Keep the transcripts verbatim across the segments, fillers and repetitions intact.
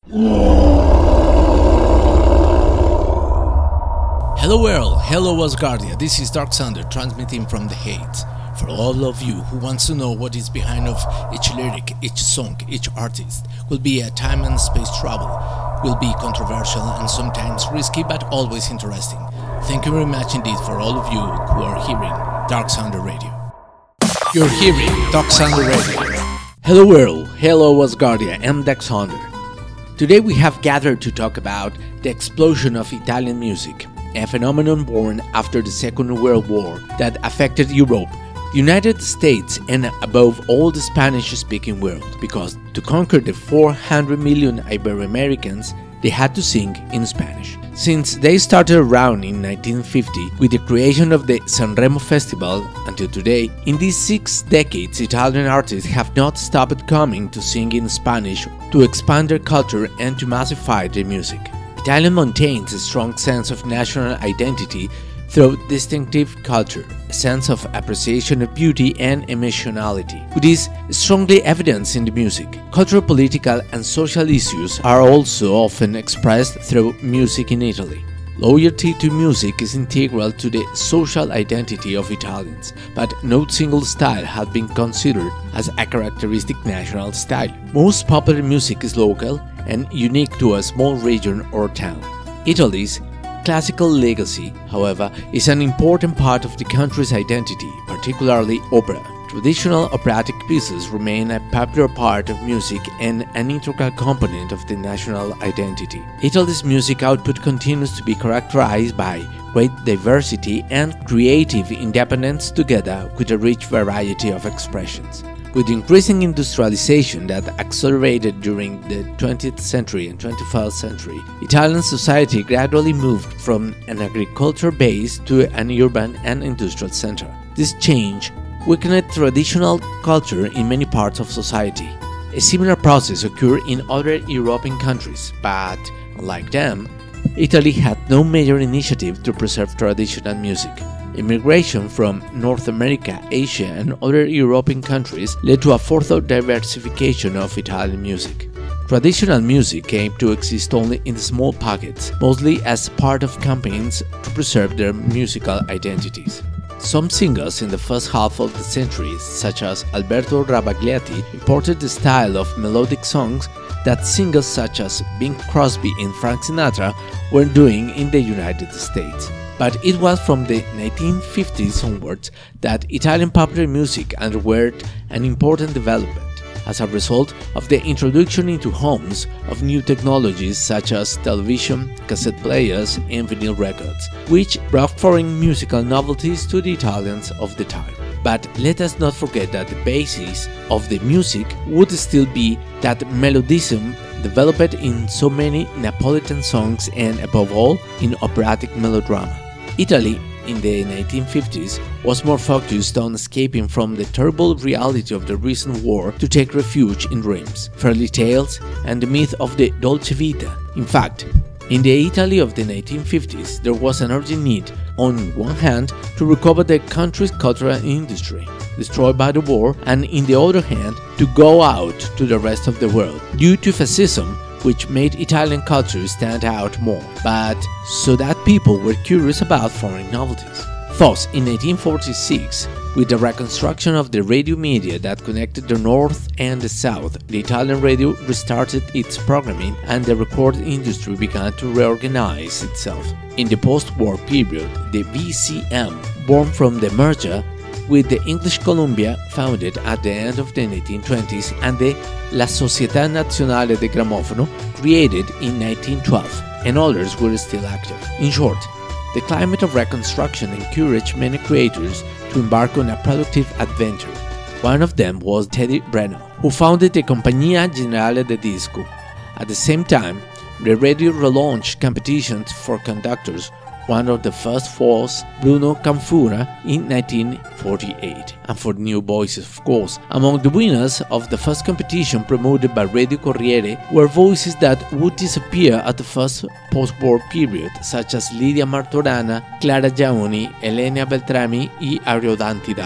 Hello world, hello Asgardia, this is Dark Thunder transmitting from the Hades. For all of you who wants to know what is behind of each lyric, each song, each artist, will be a time and space travel, will be controversial and sometimes risky but always interesting. Thank you very much indeed for all of you who are hearing Dark Thunder Radio. You're hearing Dark Thunder Radio. Hello world, hello Asgardia, I'm Dark Thunder. Today we have gathered to talk about the explosion of Italian music, a phenomenon born after the Second World War that affected Europe, the United States, and above all the Spanish-speaking world, because to conquer the four hundred million Ibero-Americans, they had to sing in Spanish. Since they started around in nineteen fifty with the creation of the Sanremo Festival until today, in these six decades Italian artists have not stopped coming to sing in Spanish to expand their culture and to massify their music. Italian maintains a strong sense of national identity through distinctive culture, a sense of appreciation of beauty and emotionality, which is strongly evidenced in the music. Cultural, political, and social issues are also often expressed through music in Italy. Loyalty to music is integral to the social identity of Italians, but no single style has been considered as a characteristic national style. Most popular music is local and unique to a small region or town. Italy's classical legacy, however, is an important part of the country's identity, particularly opera. Traditional operatic pieces remain a popular part of music and an integral component of the national identity. Italy's music output continues to be characterized by great diversity and creative independence together with a rich variety of expressions. With increasing industrialization that accelerated during the twentieth century and twenty-first century, Italian society gradually moved from an agriculture base to an urban and industrial center. This change weakened traditional culture in many parts of society. A similar process occurred in other European countries, but, unlike them, Italy had no major initiative to preserve traditional music. Immigration from North America, Asia, and other European countries led to a further diversification of Italian music. Traditional music came to exist only in small pockets, mostly as part of campaigns to preserve their musical identities. Some singers in the first half of the century, such as Alberto Rabagliati, imported the style of melodic songs that singers such as Bing Crosby and Frank Sinatra were doing in the United States. But it was from the nineteen fifties onwards that Italian popular music underwent an important development, as a result of the introduction into homes of new technologies such as television, cassette players, and vinyl records, which brought foreign musical novelties to the Italians of the time. But let us not forget that the basis of the music would still be that melodism developed in so many Neapolitan songs and, above all, in operatic melodrama. Italy, in the nineteen fifties, was more focused on escaping from the terrible reality of the recent war to take refuge in dreams, fairy tales, and the myth of the Dolce Vita. In fact, in the Italy of the nineteen fifties, there was an urgent need, on one hand, to recover the country's cultural industry, destroyed by the war, and in the other hand, to go out to the rest of the world, due to fascism, which made Italian culture stand out more, but so that people were curious about foreign novelties. Thus, in nineteen forty-six, with the reconstruction of the radio media that connected the North and the South, the Italian radio restarted its programming and the recording industry began to reorganize itself. In the post-war period, the V C M, born from the merger with the English Columbia, founded at the end of the nineteen twenties, and the La Società Nazionale de Gramofono, created in nineteen twelve, and others were still active. In short, the climate of reconstruction encouraged many creators to embark on a productive adventure. One of them was Teddy Breno, who founded the Compagnia Generale de Disco. At the same time, the radio relaunched competitions for conductors. One of the first was Bruno Canfura in nineteen forty-eight, and for new voices, of course. Among the winners of the first competition promoted by Radio Corriere were voices that would disappear at the first post-war period, such as Lidia Martorana, Clara Giaoni, Elena Beltrami, and Ariodante Dalla.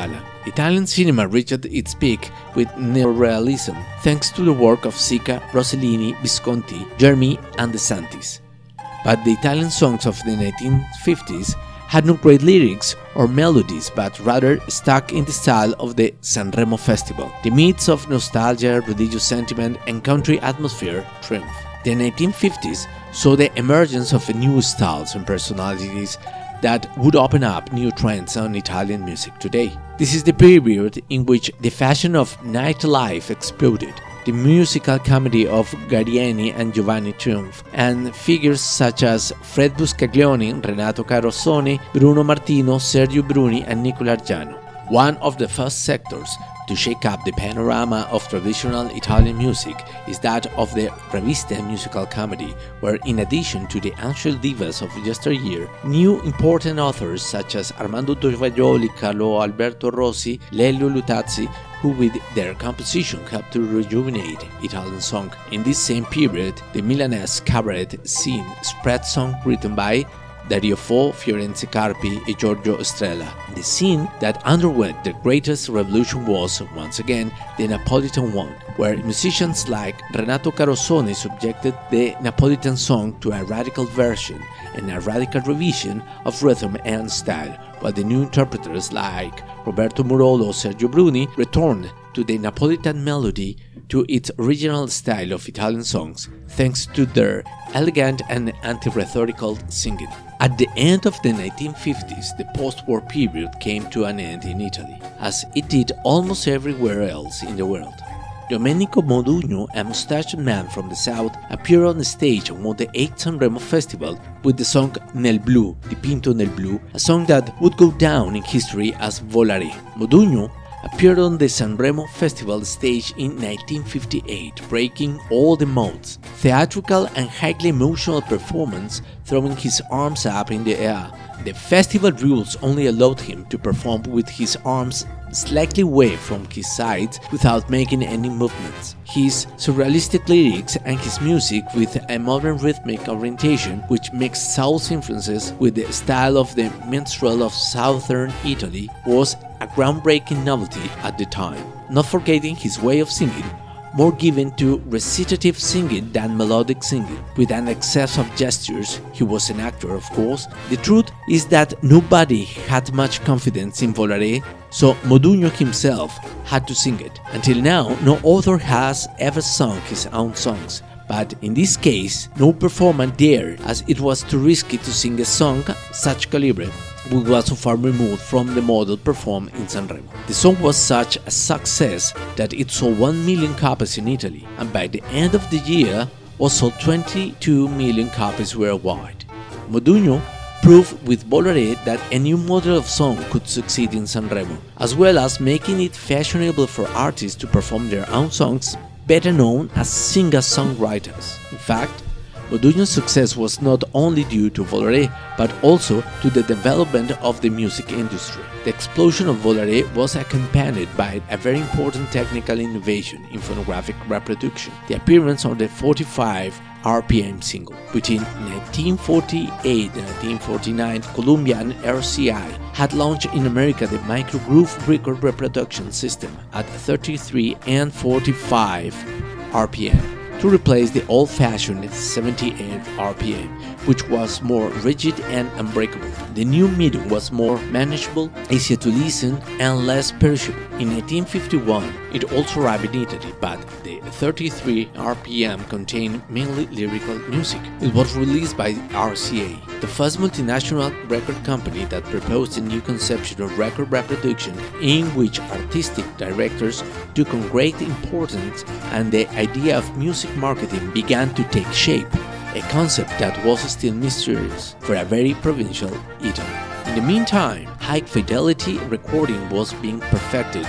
Italian cinema reached its peak with neorealism, thanks to the work of Sica, Rossellini, Visconti, Germi, and De Santis. But the Italian songs of the nineteen fifties had no great lyrics or melodies, but rather stuck in the style of the Sanremo Festival. The myths of nostalgia, religious sentiment, and country atmosphere triumphed. The nineteen fifties saw the emergence of new styles and personalities that would open up new trends on Italian music today. This is the period in which the fashion of nightlife exploded. The musical comedy of Gallieni and Giovanni triumphed, and figures such as Fred Buscaglione, Renato Carosone, Bruno Martino, Sergio Bruni, and Nicola Argiano. One of the first sectors to shake up the panorama of traditional Italian music is that of the Revista musical comedy, where in addition to the ancient divas of yesteryear, new important authors such as Armando Tovaglioli, Carlo Alberto Rossi, Lelio Luttazzi, who with their composition helped to rejuvenate Italian song. In this same period, the Milanese cabaret scene spread songs written by Dario Fo, Fiorenzo Carpi, and Giorgio Estrella. The scene that underwent the greatest revolution was, once again, the Napolitan one, where musicians like Renato Carosone subjected the Napolitan song to a radical version and a radical revision of rhythm and style, while the new interpreters like Roberto Murolo or Sergio Bruni returned to the Napolitan melody to its original style of Italian songs, thanks to their elegant and anti-rhetorical singing. At the end of the nineteen fifties, the post-war period came to an end in Italy, as it did almost everywhere else in the world. Domenico Modugno, a mustached man from the south, appeared on the stage and won the eighth Sanremo Festival with the song Nel Blu, Dipinto nel Blu, a song that would go down in history as Volare. Modugno appeared on the Sanremo Festival stage in nineteen fifty-eight, breaking all the modes. Theatrical and highly emotional performance, throwing his arms up in the air. The festival rules only allowed him to perform with his arms slightly away from his sides without making any movements. His surrealistic lyrics and his music with a modern rhythmic orientation which mixed South influences with the style of the minstrel of southern Italy was a groundbreaking novelty at the time. Not forgetting his way of singing, more given to recitative singing than melodic singing, with an excess of gestures. He was an actor, of course. The truth is that nobody had much confidence in Volare, so Modugno himself had to sing it. Until now, no author has ever sung his own songs, but in this case, no performer dared, as it was too risky to sing a song such calibre, which was so far removed from the model performed in Sanremo. The song was such a success that it sold one million copies in Italy, and by the end of the year was sold twenty-two million copies worldwide. Modugno proved with Volare that a new model of song could succeed in Sanremo, as well as making it fashionable for artists to perform their own songs, better known as singer-songwriters. In fact, Modugno's success was not only due to Volare, but also to the development of the music industry. The explosion of Volare was accompanied by a very important technical innovation in phonographic reproduction, the appearance of the forty-five R P M single. Between nineteen forty-eight and nineteen forty-nine, Columbia and R C I had launched in America the microgroove record reproduction system at thirty-three and forty-five R P M. to replace the old-fashioned seventy-eight R P M, which was more rigid and unbreakable. The new medium was more manageable, easier to listen, and less perishable. In nineteen fifty-one, it also arrived in Italy, but the thirty-three R P M contained mainly lyrical music. It was released by R C A, the first multinational record company that proposed a new conception of record reproduction in which artistic directors took on great importance and the idea of music marketing began to take shape, a concept that was still mysterious for a very provincial Italy. In the meantime, high-fidelity recording was being perfected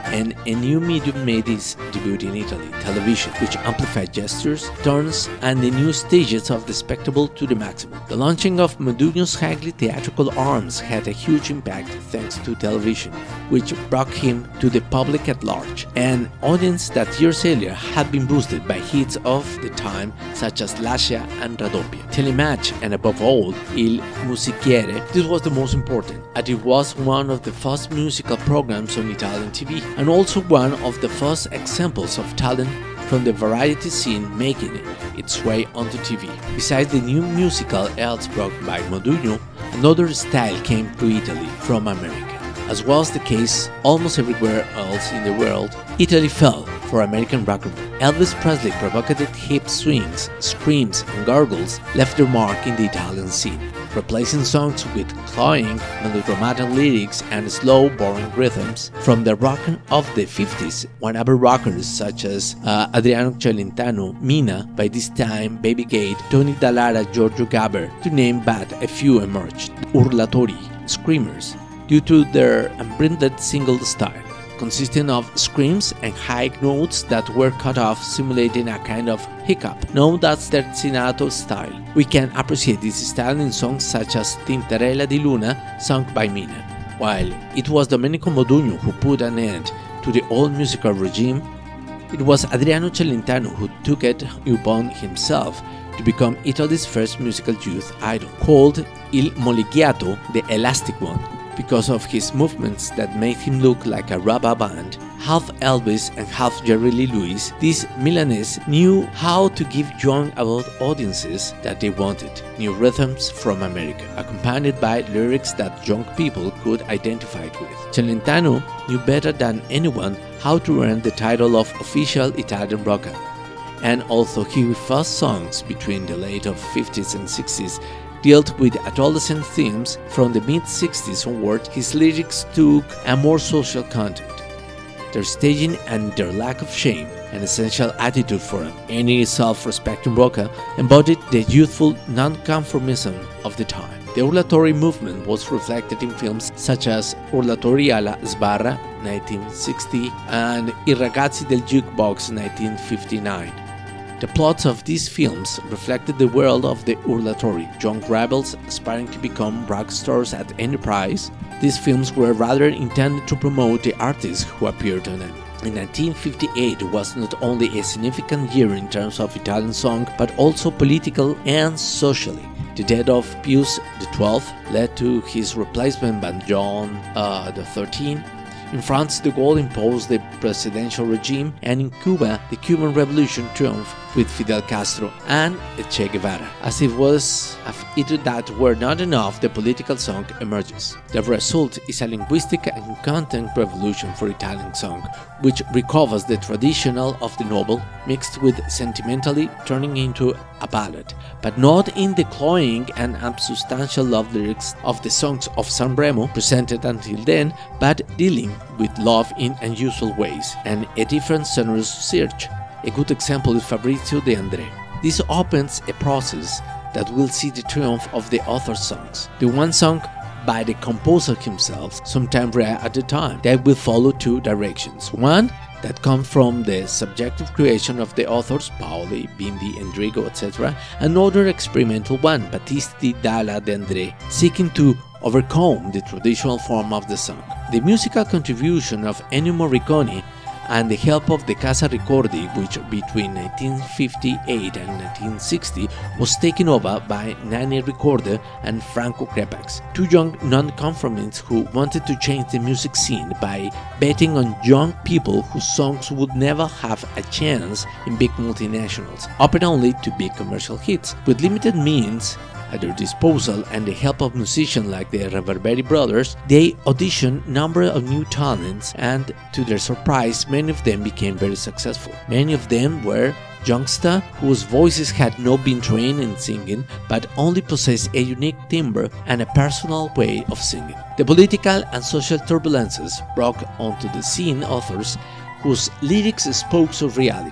and a new medium made its debut in Italy, television, which amplified gestures, turns, and the new stages of the spectacle to the maximum. The launching of Modugno's highly theatrical arms had a huge impact thanks to television, which brought him to the public at large, an audience that years earlier had been boosted by hits of the time such as Lascia and Raddoppia. Telematch, and above all, Il Musichiere, this was the most important, as it was one of the first musical programs on Italian T V, and also one of the first examples of talent from the variety scene making its way onto T V. Besides the new musical airs brought by Modugno, another style came to Italy from America. As was the case almost everywhere else in the world, Italy fell for American rock and roll. Elvis Presley provocative hip swings, screams, and gargles left their mark in the Italian scene, replacing songs with cloying, melodramatic lyrics and slow, boring rhythms from the rock of the fifties, when other rockers such as uh, Adriano Celentano, Mina, by this time Baby Gate, Tony Dallara, Giorgio Gaber, to name but a few emerged. Urlatori, screamers, due to their unbranded single style, consisting of screams and high notes that were cut off, simulating a kind of hiccup, known as terzinato style. We can appreciate this style in songs such as Tintarella di Luna, sung by Mina. While it was Domenico Modugno who put an end to the old musical regime, it was Adriano Celentano who took it upon himself to become Italy's first musical youth idol, called Il Molighiato, the Elastic One, because of his movements that made him look like a rubber band. Half Elvis and half Jerry Lee Lewis, this Milanese knew how to give young adult audiences that they wanted, new rhythms from America, accompanied by lyrics that young people could identify with. Celentano knew better than anyone how to earn the title of official Italian rocker, and although his first songs between the late fifties and sixties dealt with adolescent themes, from the mid-sixties onward his lyrics took a more social content. Their staging and their lack of shame, an essential attitude for any self-respecting rocker, embodied the youthful non-conformism of the time. The Urlatori movement was reflected in films such as Urlatori alla Sbarra nineteen sixty and I Ragazzi del Jukebox nineteen fifty-nine. The plots of these films reflected the world of the Urlatori, young rebels aspiring to become rock stars at any price. These films were rather intended to promote the artists who appeared in them. In nineteen fifty-eight was not only a significant year in terms of Italian song, but also political and socially. The death of Pius the twelfth led to his replacement by John uh, the thirteenth. In France, de Gaulle imposed the presidential regime, and in Cuba, the Cuban Revolution triumphed with Fidel Castro and Che Guevara. As it was if it that were not enough, the political song emerges. The result is a linguistic and content revolution for Italian song, which recovers the traditional of the noble, mixed with sentimentally, turning into a ballad, but not in the cloying and unsubstantial love lyrics of the songs of Sanremo presented until then, but dealing with love in unusual ways and a different sonorous search. A good example is Fabrizio De André. This opens a process that will see the triumph of the author's songs, the one sung by the composer himself, sometime rare at the time, that will follow two directions. One that comes from the subjective creation of the authors, Paoli, Bindi, Endrigo, et cetera. Another experimental one, Battisti Dalla De André, seeking to overcome the traditional form of the song. The musical contribution of Ennio Morricone and the help of the Casa Ricordi, which between nineteen fifty-eight and nineteen sixty was taken over by Nanni Ricorder and Franco Crepax, two young non-conformists who wanted to change the music scene by betting on young people whose songs would never have a chance in big multinationals, open only to big commercial hits. With limited means at their disposal and the help of musicians like the Reverberi brothers, they auditioned a number of new talents, and to their surprise, many of them became very successful. Many of them were youngsters whose voices had not been trained in singing, but only possessed a unique timbre and a personal way of singing. The political and social turbulences brought onto the scene authors whose lyrics spoke of reality.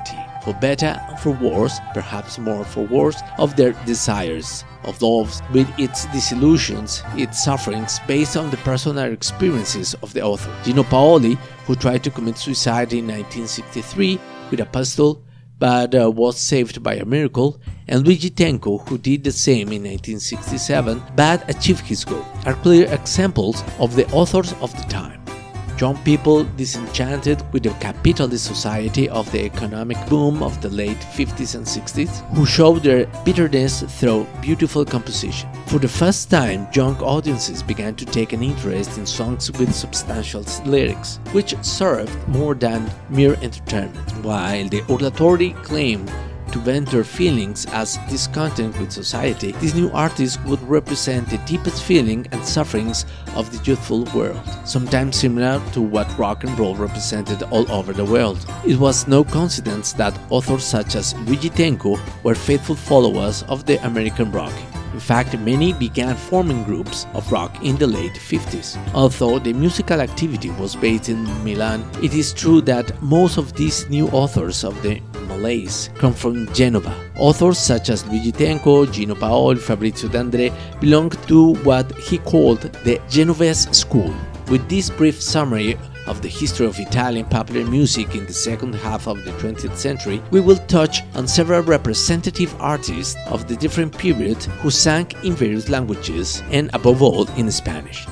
for better and for worse, perhaps more for worse, of their desires, of love with its disillusions, its sufferings, based on the personal experiences of the author. Gino Paoli, who tried to commit suicide in nineteen sixty-three with a pistol, but uh, was saved by a miracle, and Luigi Tenco, who did the same in nineteen sixty-seven but achieved his goal, are clear examples of the authors of the time. Young people disenchanted with the capitalist society of the economic boom of the late fifties and sixties, who showed their bitterness through beautiful composition. For the first time, young audiences began to take an interest in songs with substantial lyrics, which served more than mere entertainment, while the oratory claimed to vent their feelings as discontent with society. These new artists would represent the deepest feeling and sufferings of the youthful world, sometimes similar to what rock and roll represented all over the world. It was no coincidence that authors such as Luigi Tenco were faithful followers of the American rock. In fact, many began forming groups of rock in the late fifties. Although the musical activity was based in Milan, it is true that most of these new authors of the Malaise come from Genova. Authors such as Luigi Tenco, Gino Paoli, Fabrizio D'André belonged to what he called the Genovese school. With this brief summary of the history of Italian popular music in the second half of the twentieth century, we will touch on several representative artists of the different periods who sang in various languages and above all in Spanish.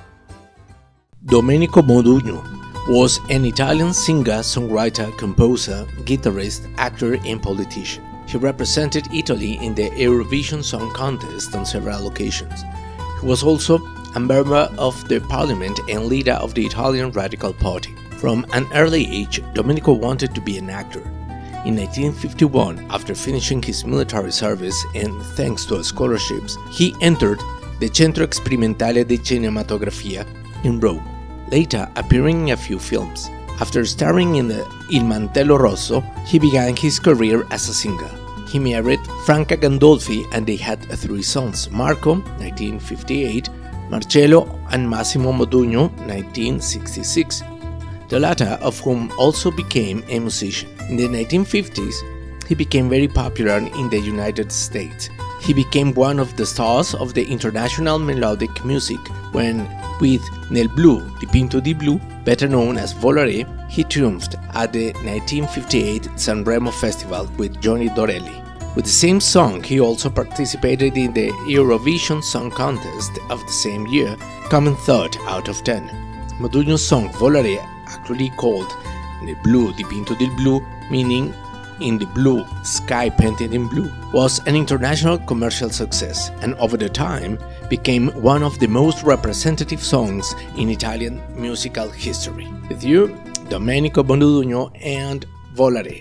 Domenico Modugno was an Italian singer, songwriter, composer, guitarist, actor and politician. He represented Italy in the Eurovision Song Contest on several occasions. He was also a member of the parliament and leader of the Italian Radical Party. From an early age, Domenico wanted to be an actor. In nineteen fifty-one, after finishing his military service and thanks to scholarships, he entered the Centro Sperimentale di Cinematografia in Rome, later appearing in a few films. After starring in the Il Mantello Rosso, he began his career as a singer. He married Franca Gandolfi and they had three sons, Marco, nineteen fifty-eight, Marcello and Massimo Modugno, nineteen sixty-six, the latter of whom also became a musician. In the nineteen fifties, he became very popular in the United States. He became one of the stars of the international melodic music when, with Nel blu dipinto di blu, better known as Volare, he triumphed at the nineteen fifty-eight Sanremo Festival with Johnny Dorelli. With the same song, he also participated in the Eurovision Song Contest of the same year, coming third out of ten. Modugno's song Volare, actually called Nel blu dipinto di blu, meaning in the blue, sky painted in blue, was an international commercial success and over the time became one of the most representative songs in Italian musical history. With you, Domenico Modugno and Volare.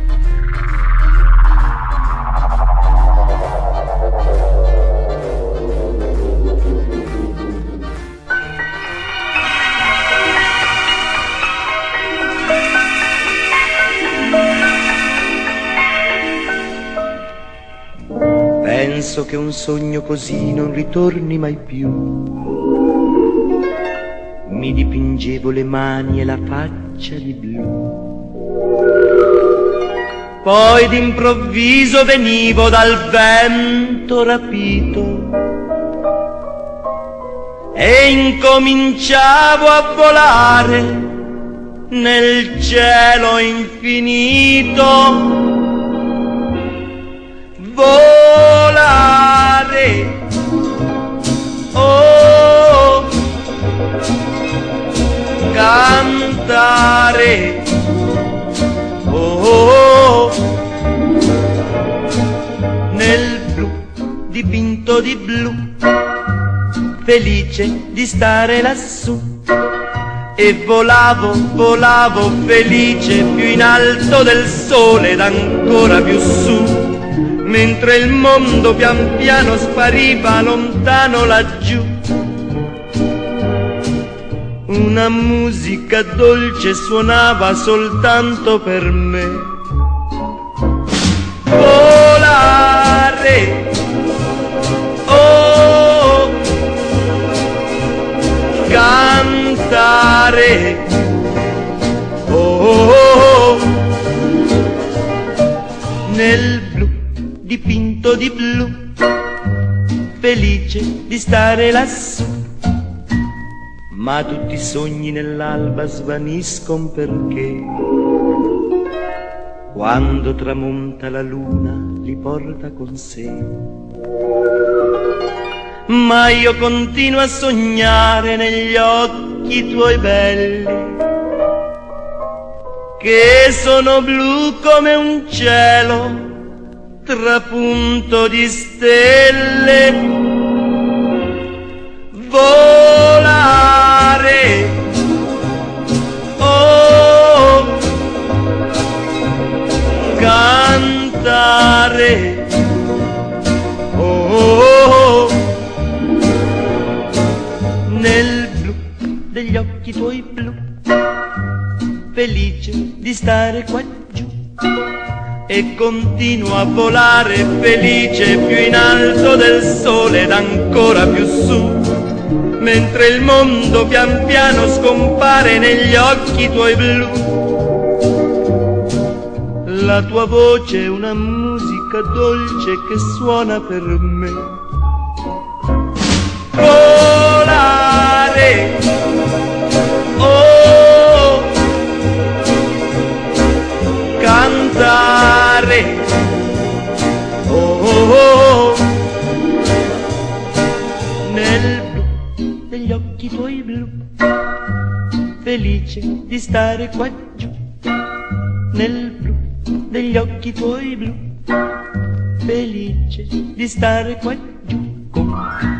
Penso che un sogno così non ritorni mai più. Mi dipingevo le mani e la faccia di blu. Poi d'improvviso venivo dal vento rapito e incominciavo a volare nel cielo infinito. Volare, oh, cantare, oh, nel blu dipinto di blu, felice di stare lassù. E volavo, volavo felice più in alto del sole ed ancora più su. Mentre il mondo pian piano spariva lontano laggiù. Una musica dolce suonava soltanto per me. Volare, oh, cantare, oh, dipinto di blu, felice di stare lassù. Ma tutti i sogni nell'alba svaniscono perché quando tramonta la luna li porta con sé. Ma io continuo a sognare negli occhi tuoi belli, che sono blu come un cielo trapunto di stelle. Volare, oh, cantare, oh, nel blu degli occhi tuoi blu, felice di stare qua giù, e continuo a volare felice più in alto del sole ed ancora più su, mentre il mondo pian piano scompare negli occhi tuoi blu. La tua voce è una musica dolce che suona per me. Volare, oh, cantare, oh, oh, oh, nel blu degli occhi tuoi blu, felice di stare qua giù, nel blu degli occhi tuoi blu, felice di stare qua giù con me.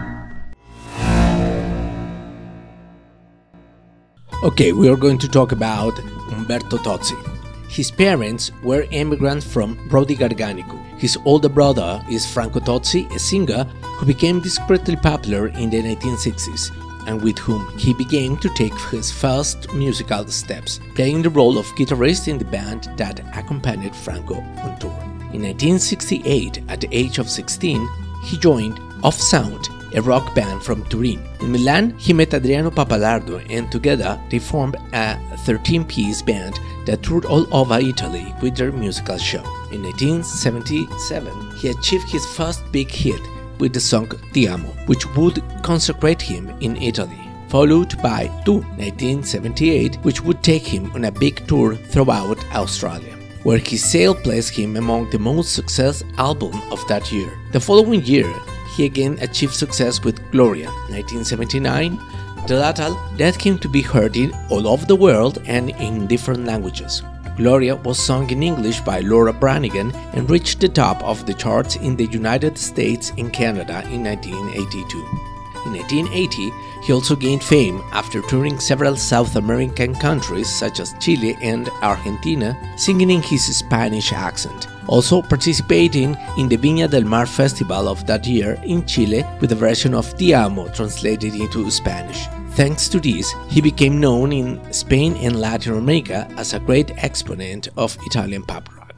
Okay, we are going to talk about Umberto Tozzi. His parents were immigrants from Prodi Garganico. His older brother is Franco Tozzi, a singer who became discreetly popular in the nineteen sixties, and with whom he began to take his first musical steps, playing the role of guitarist in the band that accompanied Franco on tour. In nineteen sixty-eight, at the age of sixteen, he joined Off Sound, a rock band from Turin. In Milan, he met Adriano Pappalardo, and together they formed a thirteen-piece band that toured all over Italy with their musical show. In nineteen seventy-seven, he achieved his first big hit with the song Ti Amo, which would consecrate him in Italy, followed by Tu, nineteen seventy-eight, which would take him on a big tour throughout Australia, where his sale placed him among the most successful albums of that year. The following year, he again achieved success with Gloria, nineteen seventy-nine, the latter that came to be heard in all over the world and in different languages. Gloria was sung in English by Laura Branigan and reached the top of the charts in the United States and Canada in nineteen eighty-two. In nineteen eighty, he also gained fame after touring several South American countries such as Chile and Argentina, singing in his Spanish accent, also participating in the Viña del Mar festival of that year in Chile with a version of Ti Amo translated into Spanish. Thanks to this, he became known in Spain and Latin America as a great exponent of Italian pop rock.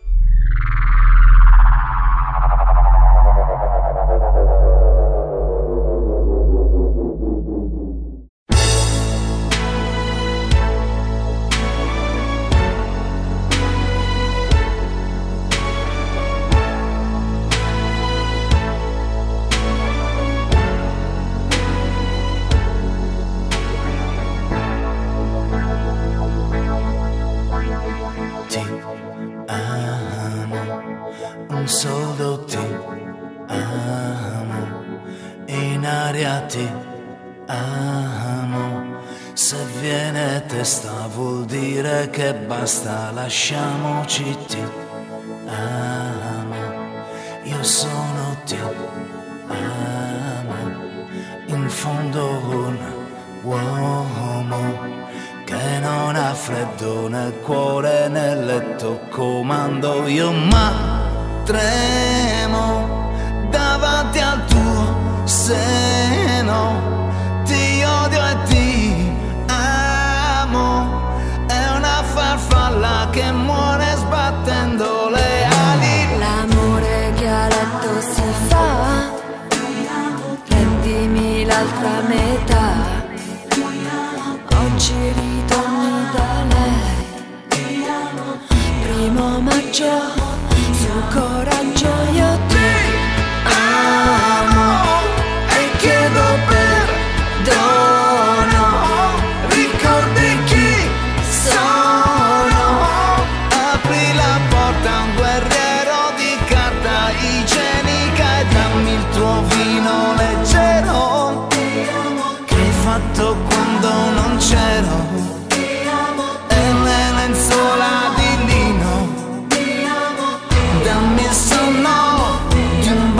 Un soldo ti amo, in aria ti amo, se viene testa vuol dire che basta, lasciamoci ti amo, io sono ti amo, in fondo un uomo che non ha freddo nel cuore, nel letto comando io, ma tremo davanti al tuo seno, ti odio e ti amo, è una farfalla che muore sbattendo le ali. L'amore che a letto si fa, prendimi l'altra metà, oggi ritorni da lei, primo maggio, su coraggio io ti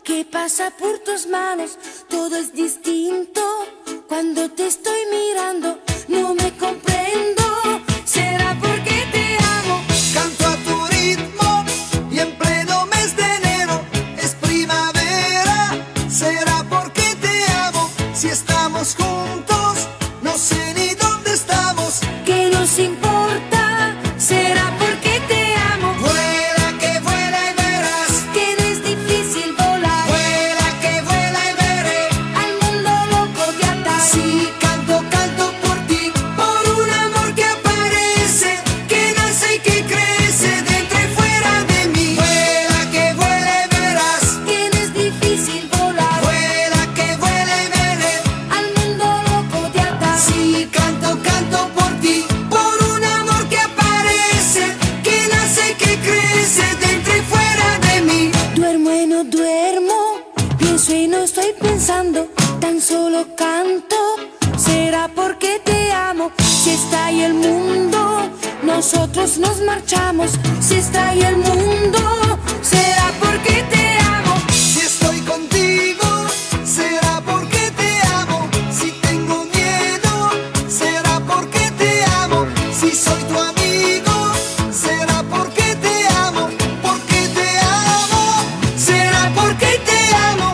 que pasa por tus manos, todo es distinto. Cuando te estoy mirando, no me comprendo. ¿Será porque te amo? Canto a tu ritmo y en pleno mes de enero es primavera. ¿Será porque te amo? Si estamos juntos, no sé ni dónde estamos. ¿Qué nos importa? ¿Será porque te amo? Vuela que vuela y verás Que no es difícil volar. Vuela que vuela y veré Al mundo loco de atar. Si canto, canto por ti, por un amor que aparece, que nace y que crece dentro y fuera de mí. Vuela que vuela y verás Que no es difícil volar. Vuela que vuela y veré Al mundo loco de atar. Si canto, canto por ti, por un amor que aparece, que nace y que crece dentro y fuera de mí. Duermo y no duermo, pienso y no estoy pensando, tan solo canto. ¿Será porque te amo? Si está ahí el mundo, nosotros nos marchamos. Si está ahí el mundo, ¿será porque te amo? Si estoy contigo, será porque te amo. Si tengo miedo, será porque te amo. Si soy tu amigo, será porque te amo. Porque te amo, será porque te amo.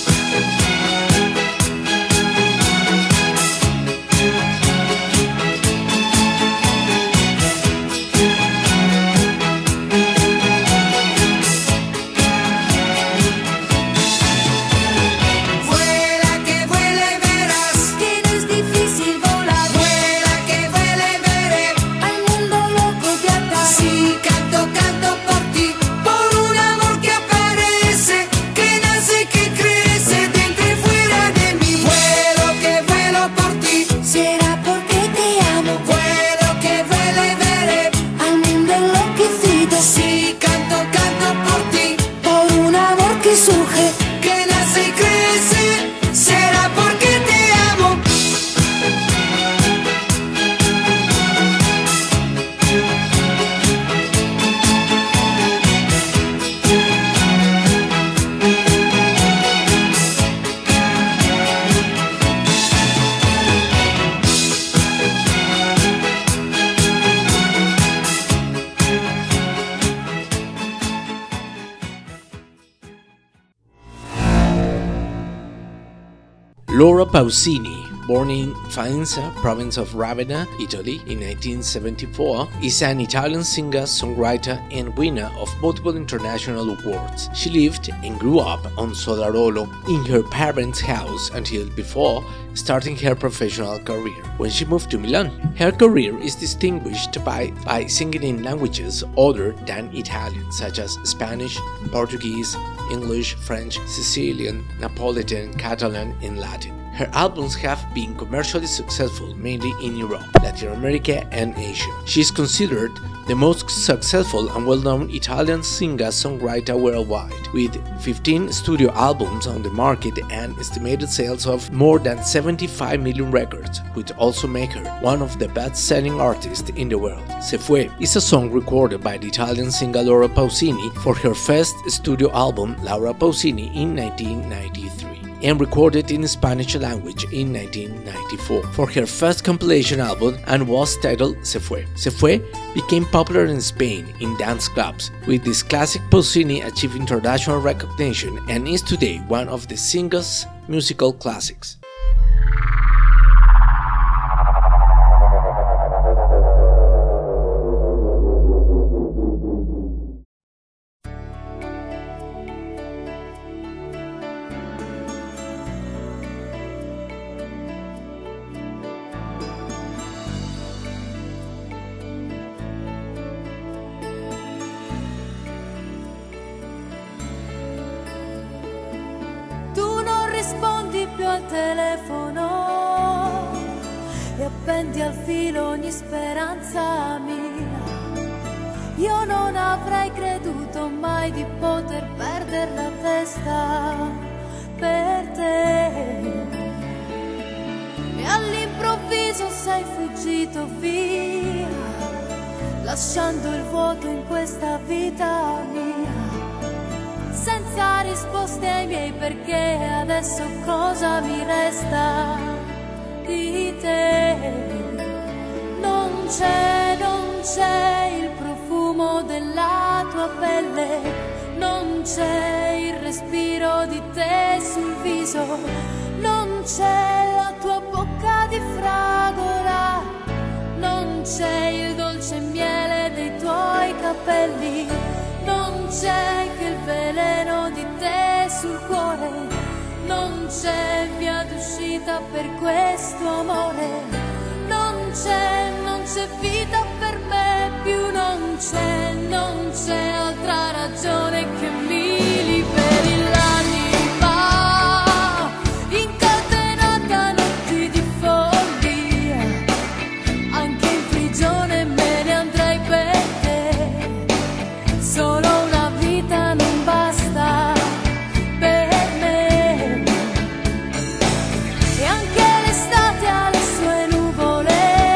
Vuela que vuela y verás Que no es difícil volar. Vuela que vuela y veré Al mundo loco de atar. Si canto, canto por ti, por un amor que aparece, que nace y que crece dentro y fuera de mí. Vuelo que vuelo por ti, ¿Será porque te amo? vuelo que vuela y veré. Al mundo enloquecido. Si canto, canto por ti, Por un amor que surge. que nace y crece, será porque te amo. Laura Pausini, born in Faenza, province of Ravenna, Italy, in nineteen seventy-four, is an Italian singer, songwriter, and winner of multiple international awards. She lived and grew up on Solarolo in her parents' house until before starting her professional career, when she moved to Milan. Her career is distinguished by, by singing in languages other than Italian, such as Spanish, Portuguese, English, French, Sicilian, Napolitan, Catalan, and Latin. Her albums have been commercially successful mainly in Europe, Latin America, and Asia. She is considered the most successful and well-known Italian singer-songwriter worldwide, with fifteen studio albums on the market and estimated sales of more than seventy-five million records, which also make her one of the best-selling artists in the world. Se Fue is a song recorded by the Italian singer Laura Pausini for her first studio album Laura Pausini in nineteen ninety-three. And recorded in Spanish language in nineteen ninety-four for her first compilation album and was titled Se Fue. Se Fue became popular in Spain in dance clubs, with this classic Pausini achieving international recognition and is today one of the singer's musical classics. Al telefono e appendi al filo ogni speranza mia. Io non avrei creduto mai di poter perdere la testa per te, e all'improvviso sei fuggito via, lasciando il vuoto in questa vita mia. senza risposte ai miei perché, adesso cosa mi resta di te? Non c'è, non c'è il profumo della tua pelle, non c'è il respiro di te sul viso, non c'è la tua bocca di fragola, non c'è il dolce miele dei tuoi capelli, non c'è che il veleno di te sul cuore, non c'è via d'uscita per questo amore. Non c'è, non c'è vita per me più, non c'è, non c'è altra ragione che mi liberi l'anima, incatenata a notti di follia, anche in prigione me ne andrei per te, solo una vita non basta per me, e anche l'estate ha le sue nuvole.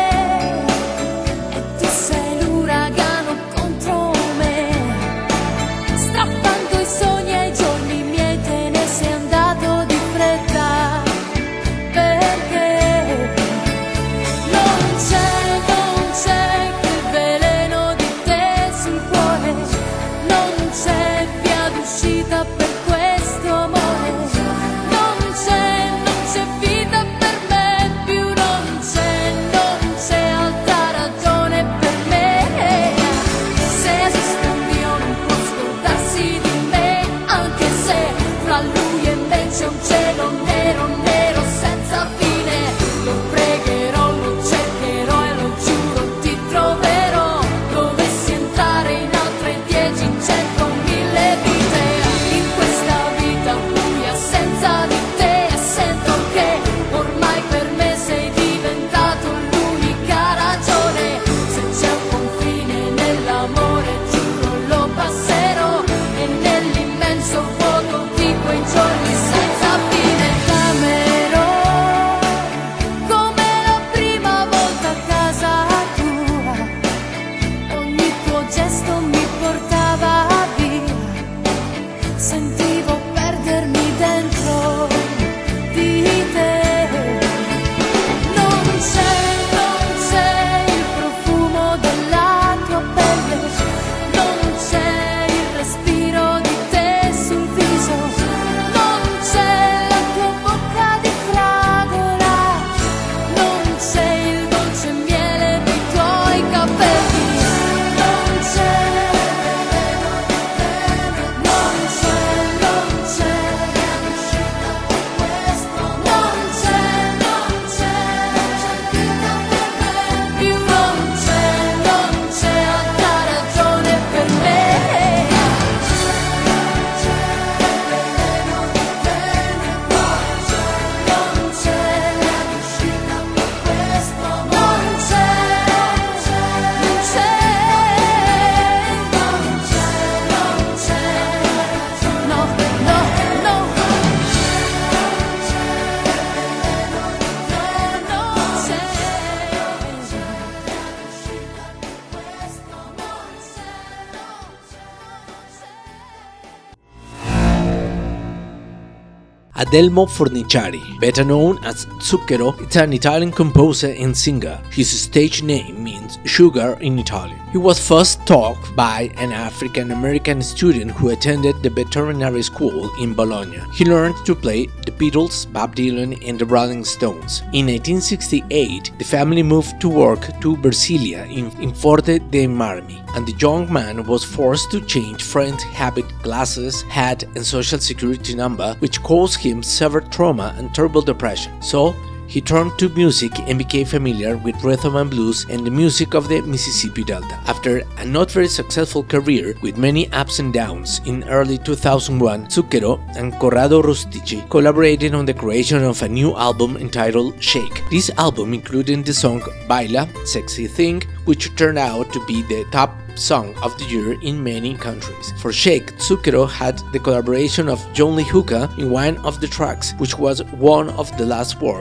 Adelmo Forniciari, better known as Zucchero, is an Italian composer and singer. His stage name means sugar in Italian. He was first taught by an African-American student who attended the veterinary school in Bologna. He learned to play the Beatles, Bob Dylan, and the Rolling Stones. In nineteen sixty-eight, the family moved to work to Versilia in, in Forte dei Marmi, and the young man was forced to change friend habit, glasses, hat, and social security number, which caused him severe trauma and terrible depression. So, he turned to music and became familiar with rhythm and blues and the music of the Mississippi Delta. After a not very successful career with many ups and downs, in early two thousand one, Zucchero and Corrado Rustici collaborated on the creation of a new album entitled Shake. This album included the song Baila, Sexy Thing, which turned out to be the top song of the year in many countries. For Shake, Zucchero had the collaboration of John Lee Hooker in one of the tracks, which was one of the last work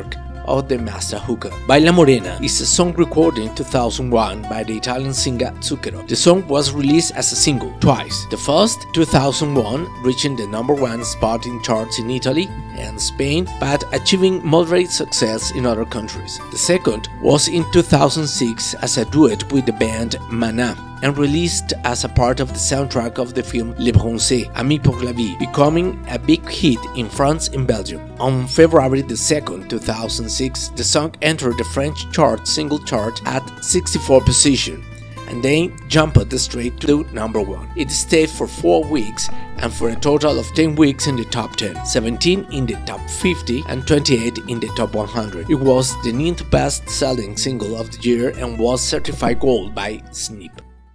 of the Master Hookah. Baila Morena is a song recorded in two thousand one by the Italian singer Zucchero. The song was released as a single twice. The first, two thousand one, reaching the number one spot in charts in Italy and Spain, but achieving moderate success in other countries. The second was in two thousand six as a duet with the band Mana, and released as a part of the soundtrack of the film Le Bronzé, Ami pour la vie, becoming a big hit in France and Belgium. On February the second, two thousand six, the song entered the French chart single chart at sixty-fourth position, and then jumped straight to number one. It stayed for four weeks and for a total of ten weeks in the top ten, seventeen in the top fifty and twenty-eight in the top one hundred. It was the ninth best-selling single of the year and was certified gold by Snip.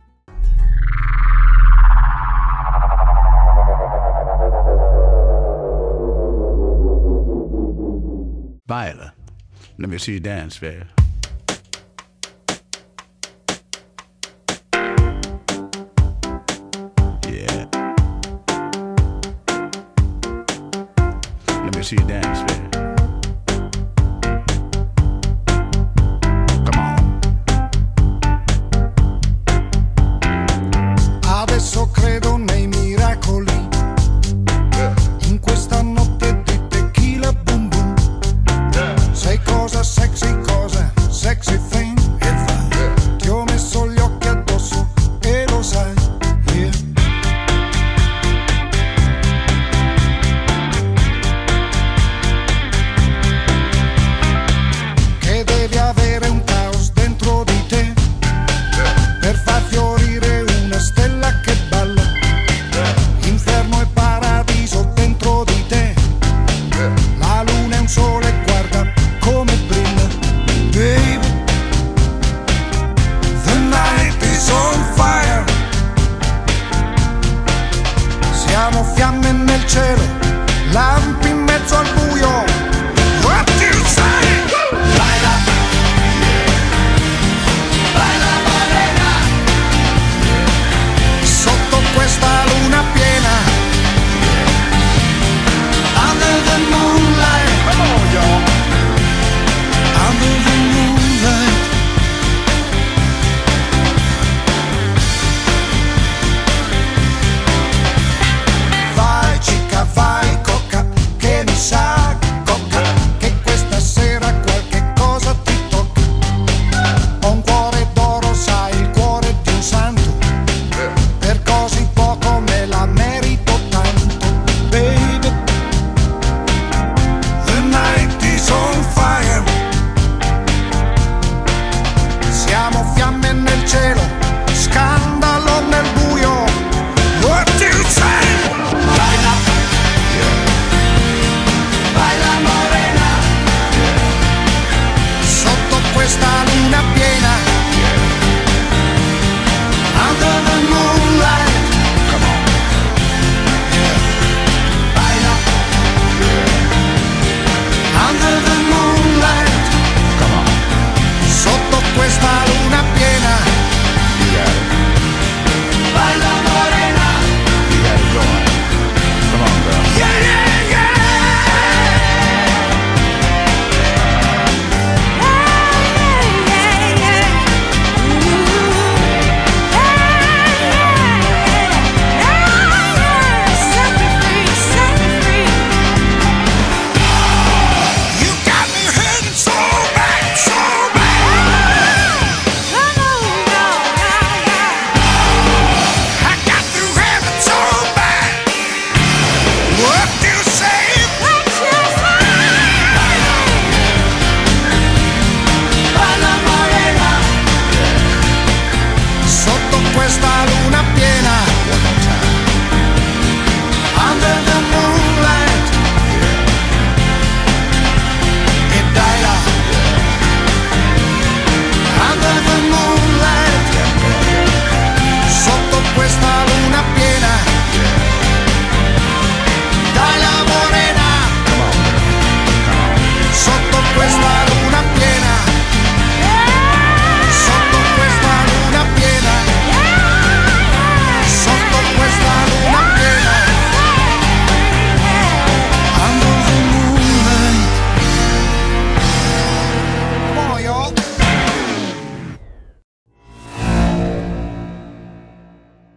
Baila. Let me see you dance, baby. Yeah. Let me see you dance, baby. Come on. Adesso credo nei miracoli. In questa notte di tequila boom boom. Sei cosa sexy, cosa sexy thing. Ti ho messo gli occhi addosso e lo sai. Yeah.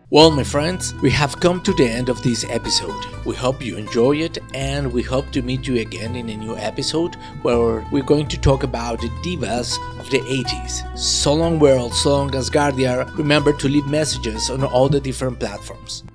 Well, my friends, we have come to the end of this episode. We hope you enjoy it, and we hope to meet you again in a new episode where we're going to talk about the divas of the eighties. So long world, so long Asgardia. Remember to leave messages on all the different platforms.